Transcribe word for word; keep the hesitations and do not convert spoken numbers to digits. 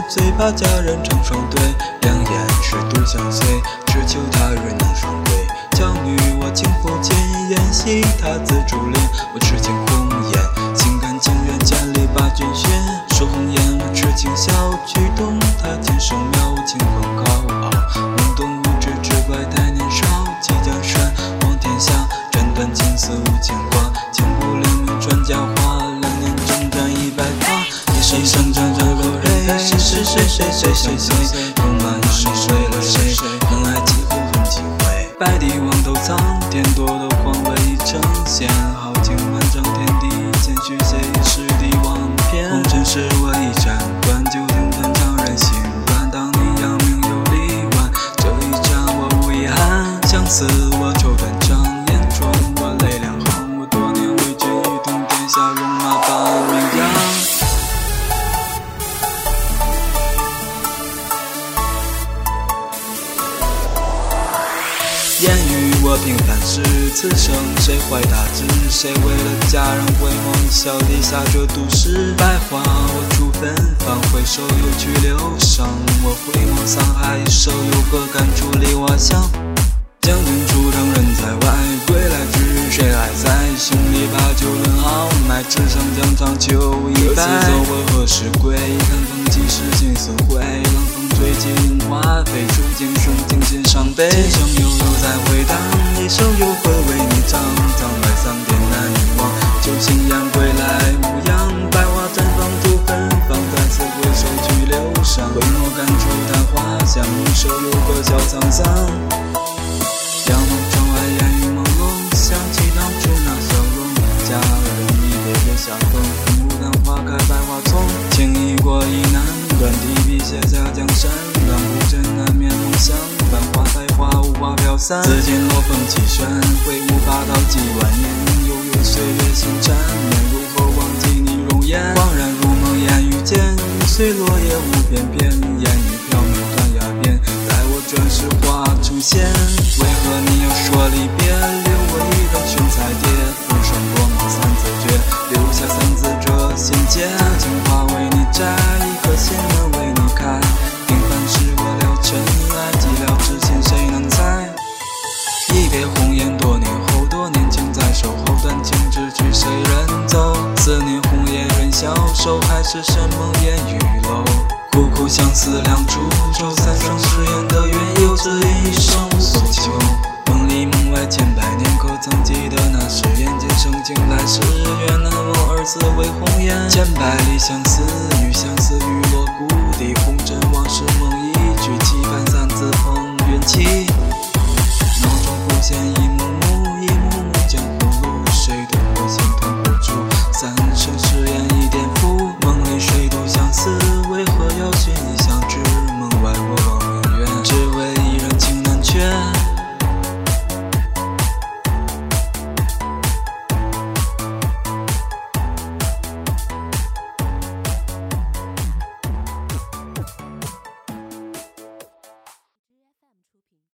最怕家人成双对，两眼是独相随，只求他人能双归。娇女我情不尽，演戏他自主练，我痴情红颜，心甘情愿千里把君寻。说红颜我痴情笑，举动他天生妙，清风高傲，懵懂无知只怪太年少。即江山望天下，斩断情丝无牵挂，千古留名传佳话，两年征战一百发，一生生战战落泪，谁谁谁谁谁谁谁，戎马一生为了谁，能爱几回恨几回。白帝王头苍天，夺得皇位已成仙，豪情万丈天地，谦虚谁是帝王篇。红尘是我一战关，就听断常人心软。当你扬名有力挽，这一战我无遗憾。相思我抽断肠，眼中我泪两行。我多年为君一统天下，戎马把名扬。言语我平凡事，此生谁怀大志？谁为了家人回眸，笑地下这都市。百花我出芬芳，回首又去流伤。我回眸沧海，手有何感触离我乡？将军出征人在外，归来之谁还在？兄弟把酒论豪迈，只剩疆场秋一败。走我何时归？看风几时心似灰。冷风吹起樱花飞，触景生情心伤悲。今生悠悠再回荡，一生又会为你唱。葬外桑田难遗忘，旧信仰归来无恙。百花绽放出芬芳，再次回首去流伤。回眸感触淡花香，手有何笑沧桑？仰望窗外烟雨朦胧，想起当初那笑容。佳人一别月下风，牡丹花开百花丛。情已过意难断，提笔写下江山。让古镇难免梦想，繁花百花无花飘散。紫金落风起旋，挥舞霸道几万年。悠悠岁月心缠绵，如何忘记你容颜？恍然如梦烟雨间，随落叶无边边。烟雨飘渺断崖边，待我转世花出现。为何你要说离别？留我一人寻彩蝶，浮生落寞三字诀，留下三字这心结。情花为你摘，一颗心门为你开。平凡是我了尘埃，寂寥之情谁能猜？一别红颜多年后，多年情在手后，断情知去谁人走？思念红叶人消瘦，还是深梦烟雨楼。苦苦相思两处愁，三生誓言的缘由，此一生无所求。梦里梦外千百年，可曾记得那誓言？今生今来世，愿难忘二字为红颜。千百里相